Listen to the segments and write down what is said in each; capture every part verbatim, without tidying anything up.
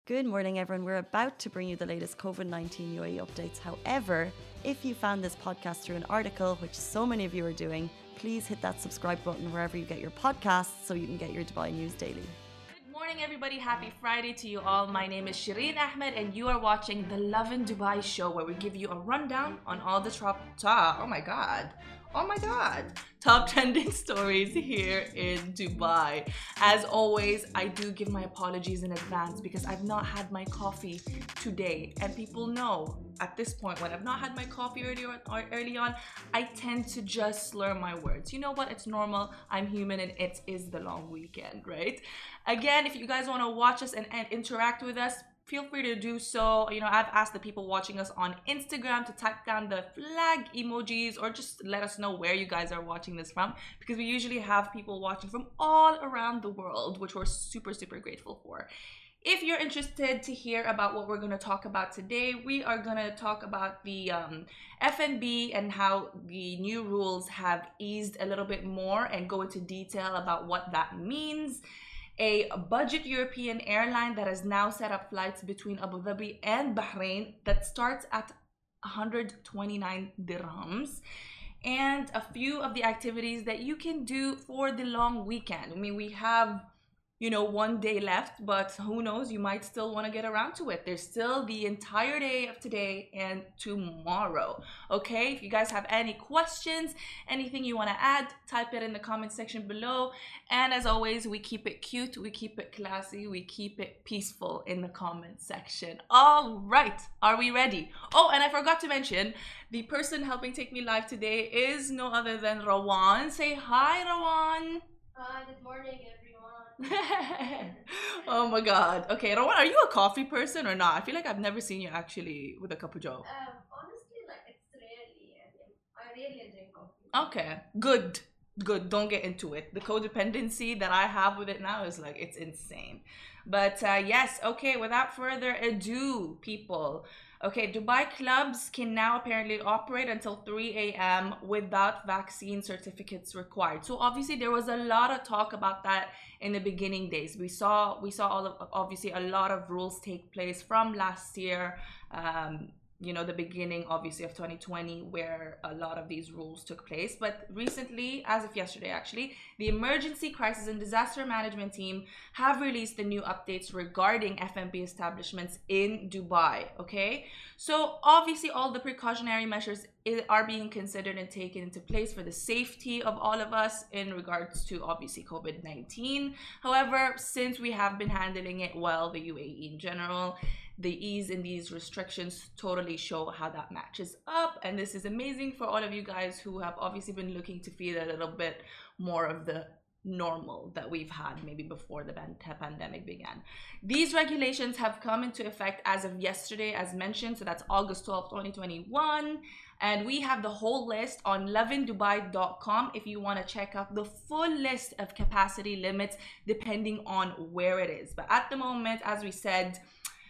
Good morning, everyone. We're about to bring you the latest COVID nineteen U A E updates. However, if you found this podcast through an article, which so many of you are doing, please hit that subscribe button wherever you get your podcasts so you can get your Dubai news daily. Good morning, everybody. Happy Friday to you all. My name is Shireen Ahmed, and you are watching the Lovin Dubai show, where we give you a rundown on all the top, top, oh my god, oh my god, top trending stories here in Dubai. As always, I do give my apologies in advance because I've not had my coffee today, and people know at this point when I've not had my coffee early on, or early on, I tend to just slur my words. You know what? It's normal. I'm human, and it is the long weekend, right? Again, if you guys want to watch us and, and interact with us, feel free to do so. You know, I've asked the people watching us on Instagram to type down the flag emojis or just let us know where you guys are watching this from, because we usually have people watching from all around the world, which we're super, super grateful for. If you're interested to hear about what we're going to talk about today, we are going to talk about the um, F and B and how the new rules have eased a little bit more and go into detail about what that means. A budget European airline that has now set up flights between Abu Dhabi and Bahrain that starts at one hundred twenty-nine dirhams. And a few of the activities that you can do for the long weekend. I mean, we have, you know, one day left, but who knows, you might still want to get around to it. There's still the entire day of today and tomorrow. Okay, if you guys have any questions, anything you want to add, type it in the comment section below. And as always, we keep it cute, we keep it classy, we keep it peaceful in the comment section. All right, are we ready? Oh, and I forgot to mention, the person helping take me live today is no other than Rawan. Say hi, Rawan. Hi, good morning, everyone. Oh my god. Okay, Rawan, are you a coffee person or not? I feel like I've never seen you actually with a cup of joe. Um, honestly, like it's rarely. I mean, I really drink coffee. Okay, good. Good. Don't get into it. The codependency that I have with it now is like, it's insane. But uh, yes, okay, without further ado, people. Okay, Dubai clubs can now apparently operate until three A M without vaccine certificates required. So obviously there was a lot of talk about that in the beginning days. We saw we saw all of, obviously a lot of rules take place from last year. Um, you know, the beginning obviously of twenty twenty, where a lot of these rules took place. But recently, as of yesterday actually, the Emergency Crisis and Disaster Management team have released the new updates regarding F and B establishments in Dubai. Okay, so obviously all the precautionary measures are being considered and taken into place for the safety of all of us in regards to obviously COVID nineteen. However, since we have been handling it well, the U A E in general, the ease in these restrictions totally show how that matches up. And this is amazing for all of you guys who have obviously been looking to feel a little bit more of the normal that we've had maybe before the pandemic began. These regulations have come into effect as of yesterday, as mentioned. So that's August twelfth, twenty twenty-one. And we have the whole list on lovin dubai dot com if you want to check out the full list of capacity limits depending on where it is. But at the moment, as we said,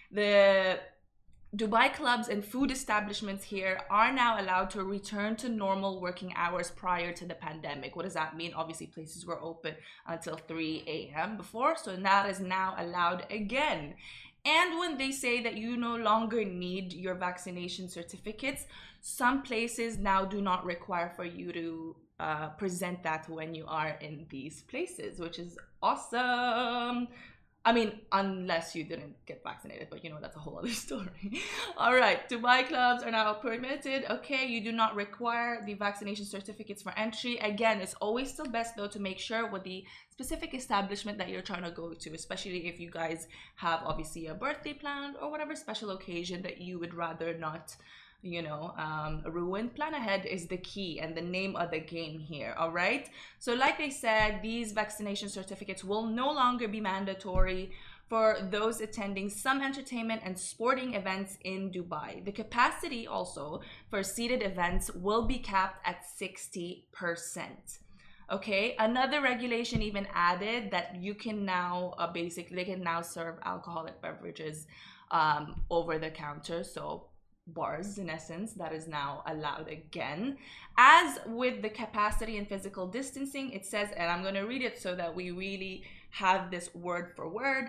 the Dubai clubs and food establishments here are now allowed to return to normal working hours prior to the pandemic. What does that mean? Obviously, places were open until three A M before, so that is now allowed again. And when they say that you no longer need your vaccination certificates, some places now do not require for you to uh, present that when you are in these places, which is awesome. I mean, unless you didn't get vaccinated, but you know, that's a whole other story. All right, Dubai clubs are now permitted. Okay, you do not require the vaccination certificates for entry. Again, it's always still best though to make sure with the specific establishment that you're trying to go to, especially if you guys have obviously a birthday planned or whatever special occasion that you would rather not, you know, um, ruin. Plan ahead is the key and the name of the game here. All right, so like they said, these vaccination certificates will no longer be mandatory for those attending some entertainment and sporting events in Dubai. The capacity also for seated events will be capped at sixty percent. Okay, another regulation even added that you can now uh, basically they can now serve alcoholic beverages um, over the counter. So bars in essence, that is now allowed again. As with the capacity and physical distancing, it says, and I'm going to read it so that we really have this word for word: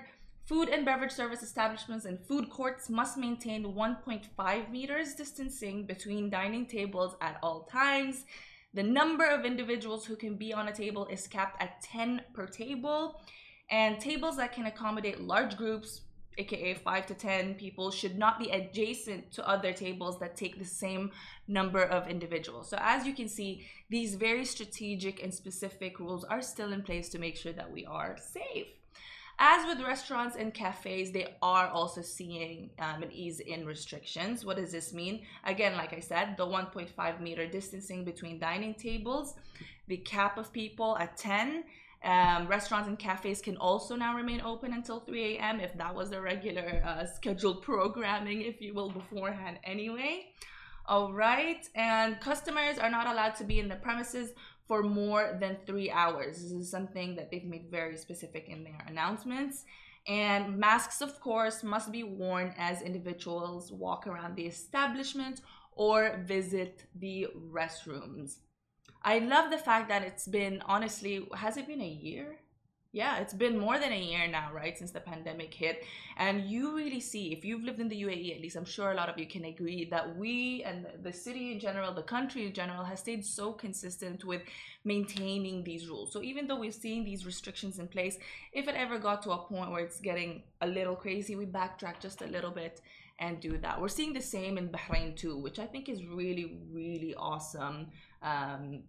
Food and beverage service establishments and food courts must maintain one point five meters distancing between dining tables at all times. The number of individuals who can be on a table is capped at ten per table. And tables that can accommodate large groups, aka five to ten people, should not be adjacent to other tables that take the same number of individuals. So as you can see, these very strategic and specific rules are still in place to make sure that we are safe. As with restaurants and cafes, they are also seeing um, an ease in restrictions. What does this mean? Again, like I said, the one point five meter distancing between dining tables, the cap of people at ten. Um, restaurants and cafes can also now remain open until three A M if that was the regular uh, scheduled programming, if you will, beforehand anyway. All right, and customers are not allowed to be in the premises for more than three hours. This is something that they've made very specific in their announcements. And masks, of course, must be worn as individuals walk around the establishment or visit the restrooms. I love the fact that it's been, honestly, has it been a year? Yeah, it's been more than a year now, right, since the pandemic hit. And you really see, if you've lived in the U A E, at least I'm sure a lot of you can agree, that we and the city in general, the country in general, has stayed so consistent with maintaining these rules. So even though we've seen these restrictions in place, if it ever got to a point where it's getting a little crazy, we backtrack just a little bit and do that. We're seeing the same in Bahrain too, which I think is really, really awesome. Um,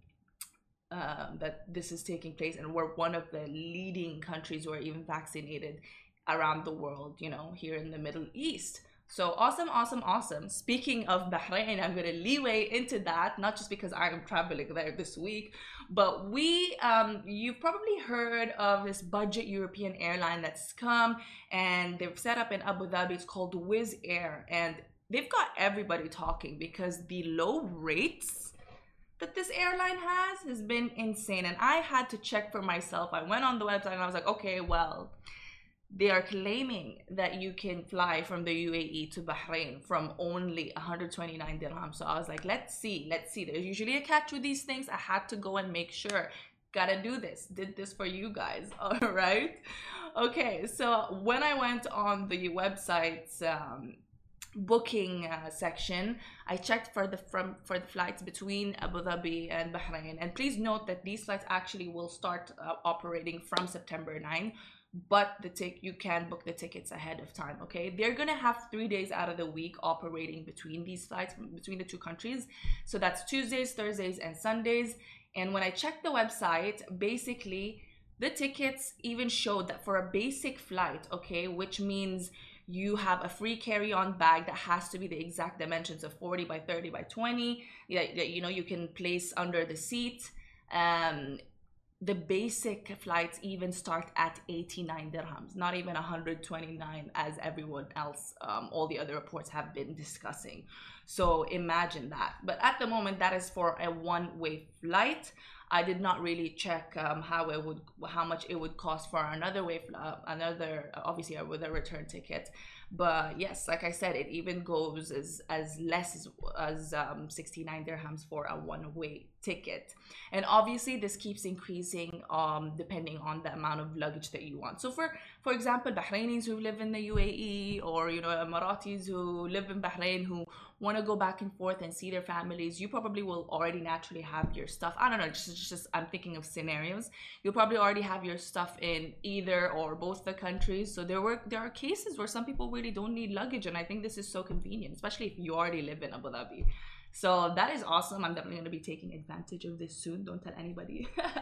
Um, that this is taking place, and we're one of the leading countries who are even vaccinated around the world, you know, here in the Middle East. So awesome, awesome, awesome. Speaking of Bahrain, I'm going to leeway into that, not just because I am traveling there this week, but we, um, you've probably heard of this budget European airline that's come, and they've set up in Abu Dhabi. It's called Wizz Air, and they've got everybody talking because the low rates that this airline has has been insane. And I had to check for myself. I went on the website and I was like, okay, well, they are claiming that you can fly from the U A E to Bahrain from only one hundred twenty-nine dirhams. So I was like, let's see, let's see. There's usually a catch with these things. I had to go and make sure. Gotta do this. Did this for you guys. All right. Okay. So when I went on the website's um, booking uh, section, I checked for the from for the flights between Abu Dhabi and Bahrain, and please note that these flights actually will start uh, operating from September ninth, but the tick you can book the tickets ahead of time. Okay, they're gonna have three days out of the week operating between these flights between the two countries, so that's Tuesdays, Thursdays, and Sundays. And when I checked the website, basically the tickets even showed that for a basic flight, okay, which means you have a free carry-on bag that has to be the exact dimensions of forty by thirty by twenty. Yeah, you know, you can place under the seat. Um, the basic flights even start at eighty-nine dirhams, not even one hundred twenty-nine as everyone else, um, all the other reports have been discussing. So imagine that. But at the moment, that is for a one-way flight. I did not really check um, how it would, how much it would cost for another way, uh, another obviously with a return ticket. But yes, like I said, it even goes as as less as, as um, sixty-nine dirhams for a one-way ticket. And obviously, this keeps increasing um, depending on the amount of luggage that you want. So for for example, Bahrainis who live in the U A E, or you know Emiratis who live in Bahrain who want to go back and forth and see their families, you probably will already naturally have your stuff. I don't know, just, just I'm thinking of scenarios. You'll probably already have your stuff in either or both the countries. So there were there are cases where some people really don't need luggage, and I think this is so convenient, especially if you already live in Abu Dhabi. So that is awesome. I'm definitely going to be taking advantage of this soon. Don't tell anybody.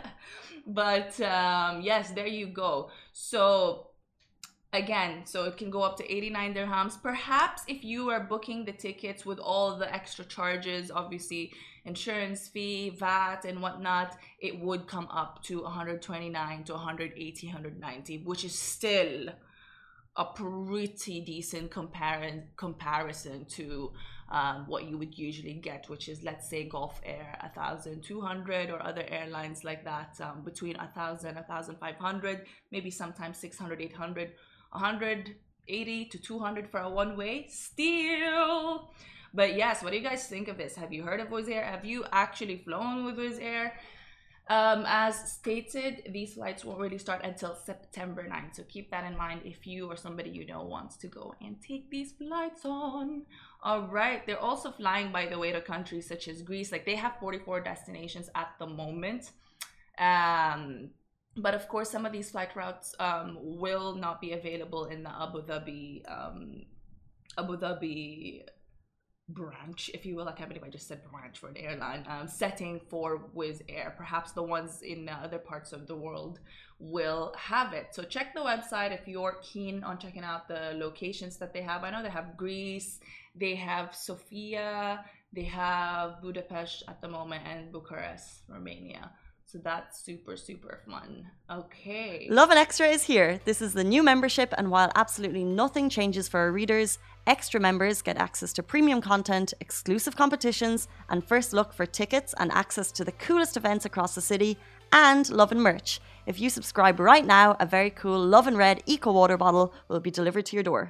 But um, yes, there you go. So again, so it can go up to eighty-nine dirhams. Perhaps if you are booking the tickets with all the extra charges, obviously insurance fee, V A T and whatnot, it would come up to one hundred twenty-nine to one hundred eighty, one hundred ninety, which is still a pretty decent compar- comparison to um, what you would usually get, which is, let's say, Gulf Air one thousand two hundred, or other airlines like that, um, between one thousand, one thousand five hundred, maybe sometimes six hundred, eight hundred, one hundred eighty to two hundred for a one-way still. But yes, what do you guys think of this? Have you heard of Wizz Air? Have you actually flown with Wizz Air? Um, as stated, these flights won't really start until September ninth. So keep that in mind if you or somebody you know wants to go and take these flights on. All right. They're also flying, by the way, to countries such as Greece. Like they have forty-four destinations at the moment. Um, but of course, some of these flight routes um, will not be available in the Abu Dhabi, um, Abu Dhabi branch, if you will. I can't believe I just said branch for an airline. Um, setting for Wizz Air. Perhaps the ones in uh, other parts of the world will have it. So check the website if you're keen on checking out the locations that they have. I know they have Greece, they have Sofia, they have Budapest at the moment, and Bucharest, Romania. So that's super, super fun. Okay. Lovin Extra is here. This is the new membership, and while absolutely nothing changes for our readers, extra members get access to premium content, exclusive competitions, and first look for tickets and access to the coolest events across the city, and Lovin merch. If you subscribe right now, a very cool Lovin Red Eco Water bottle will be delivered to your door.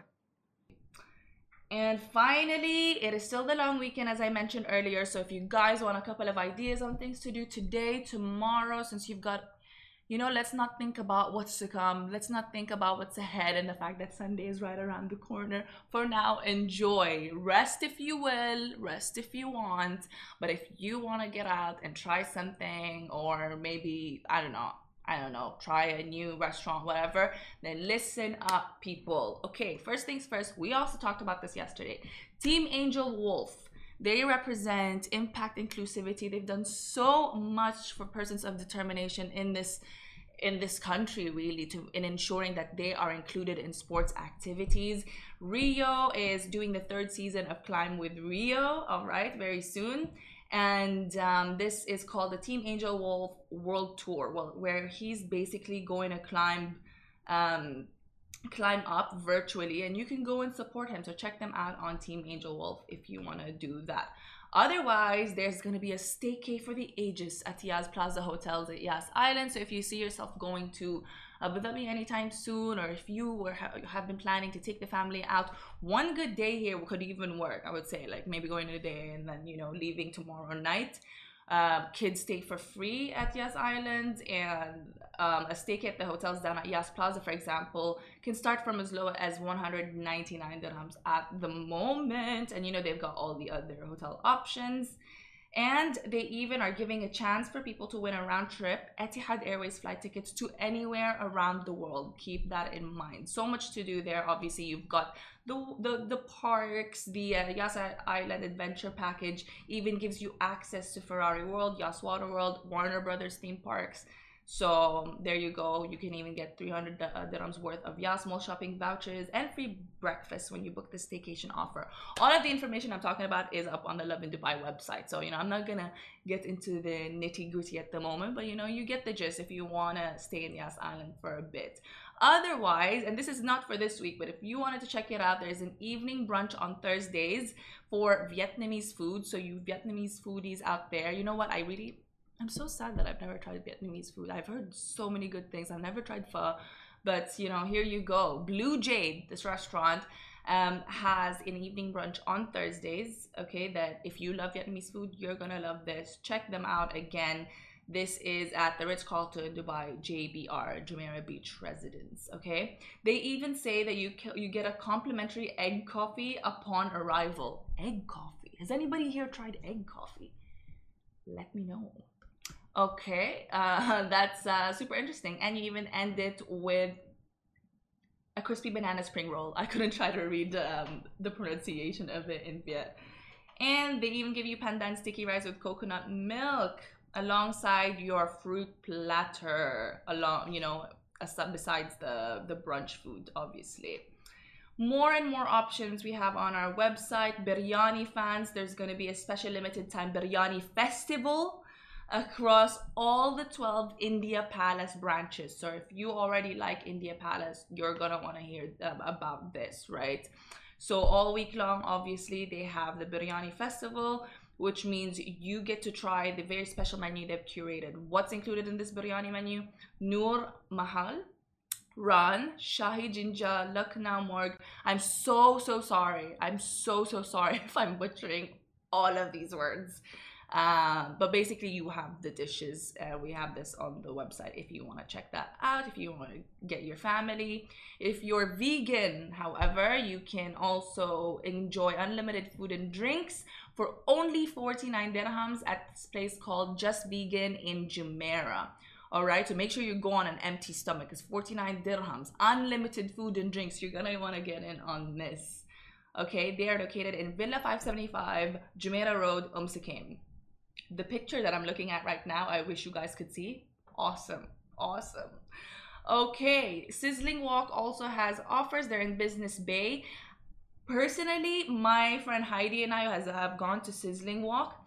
And finally, it is still the long weekend, as I mentioned earlier. So if you guys want a couple of ideas on things to do today, tomorrow, since you've got, you know, let's not think about what's to come. Let's not think about what's ahead and the fact that Sunday is right around the corner. For now, enjoy. Rest if you will, rest if you want. But if you want to get out and try something, or maybe, I don't know, I don't know, try a new restaurant, whatever, then listen up, people. Okay, first things first, we also talked about this yesterday. Team Angel Wolf, they represent impact inclusivity. They've done so much for persons of determination in this in this country, really, to in ensuring that they are included in sports activities. Rio is doing the third season of Climb with Rio, all right, very soon. And um, this is called the Team Angel Wolf World Tour, well, where he's basically going to climb um, climb up virtually, and you can go and support him. So check them out on Team Angel Wolf if you want to do that. Otherwise, there's going to be a staycay for the ages at Yas Plaza Hotels at Yas Island. So if you see yourself going to Abu Dhabi anytime soon, or if you were ha have been planning to take the family out, one good day here could even work. I would say, like, maybe going today and then, you know, leaving tomorrow night. Uh, kids stay for free at Yas Island, and um, a staycay at the hotels down at Yas Plaza, for example, can start from as low as one hundred ninety-nine dirhams at the moment. And you know, they've got all the other hotel options. And they even are giving a chance for people to win a round trip Etihad Airways flight tickets to anywhere around the world. Keep that in mind. So much to do there. Obviously, you've got the the, the parks, the uh, Yas Island Adventure Package even gives you access to Ferrari World, Yas Water World, Warner Brothers theme parks. So there you go. You can even get three hundred dirhams worth of Yas Mall shopping vouchers and free breakfast when you book the staycation offer. All of the information I'm talking about is up on the Lovin Dubai website. So, you know, I'm not going to get into the nitty gritty at the moment, but, you know, you get the gist if you want to stay in Yas Island for a bit. Otherwise, and this is not for this week, but if you wanted to check it out, there's an evening brunch on Thursdays for Vietnamese food. So you Vietnamese foodies out there, you know what? I really... I'm so sad that I've never tried Vietnamese food. I've heard so many good things. I've never tried pho, but you know, here you go. Blue Jade, this restaurant, um, has an evening brunch on Thursdays. Okay, that if you love Vietnamese food, you're gonna love this. Check them out again. This is at the Ritz-Carlton Dubai J B R, Jumeirah Beach Residence. Okay, they even say that you you get a complimentary egg coffee upon arrival. Egg coffee. Has anybody here tried egg coffee? Let me know. Okay, uh, that's uh, super interesting. And you even end it with a crispy banana spring roll. I couldn't try to read um, the pronunciation of it in Viet. And they even give you pandan sticky rice with coconut milk alongside your fruit platter, along, you know, besides the, the brunch food, obviously. More and more options we have on our website. Biryani fans, there's going to be a special limited time Biryani festival across all the twelve India Palace branches. So if you already like India Palace, you're going to want to hear um, about this, right? So all week long, obviously, they have the Biryani festival, which means you get to try the very special menu they've curated. What's included in this biryani menu? Noor Mahal, Ran, Shahi Jinja, Lucknow Morg. I'm so, so sorry. I'm so, so sorry if I'm butchering all of these words. Uh, but basically, you have the dishes. Uh, we have this on the website if you want to check that out, if you want to get your family. If you're vegan, however, you can also enjoy unlimited food and drinks for only forty-nine dirhams at this place called Just Vegan in Jumeirah. All right, so make sure you go on an empty stomach. It's forty-nine dirhams, unlimited food and drinks. You're gonna want to get in on this. Okay, they are located in Villa five seventy-five, Jumeirah Road, Umm Sakim. The picture that I'm looking at right now, I wish you guys could see. Awesome, awesome. Okay, Sizzling Walk also has offers. They're in Business Bay. Personally, my friend Heidi and I has, have gone to Sizzling Walk.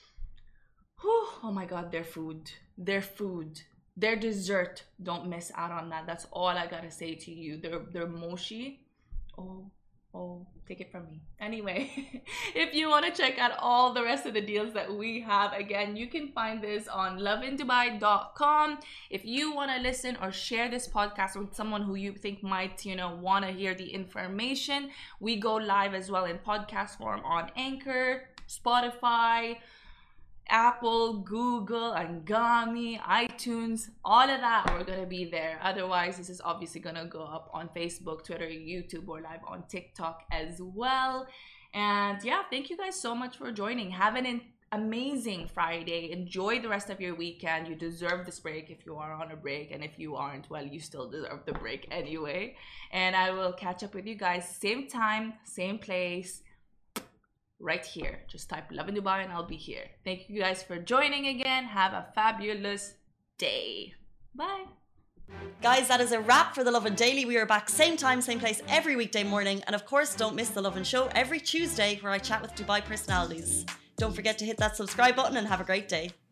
Whew, oh my God, their food, their food, their dessert. Don't miss out on that. That's all I gotta say to you. Their, their mochi. Oh. Oh, take it from me. Anyway, if you want to check out all the rest of the deals that we have, again, you can find this on lovin dubai dot com. If you want to listen or share this podcast with someone who you think might, you know, want to hear the information, we go live as well in podcast form on Anchor, Spotify, Apple, Google, Angami, iTunes, all of that, we're gonna be there. Otherwise, this is obviously gonna go up on Facebook, Twitter, YouTube, or live on TikTok as well. And yeah, thank you guys so much for joining. Have an amazing Friday. Enjoy the rest of your weekend. You deserve this break if you are on a break, and if you aren't, well, you still deserve the break anyway. And I will catch up with you guys same time, same place, right here. Just type Lovin Dubai and I'll be here. Thank you guys for joining again. Have a fabulous day. Bye. Guys, that is a wrap for the Lovin Daily. We are back same time, same place every weekday morning. And of course, don't miss the Lovin Show every Tuesday where I chat with Dubai personalities. Don't forget to hit that subscribe button and have a great day.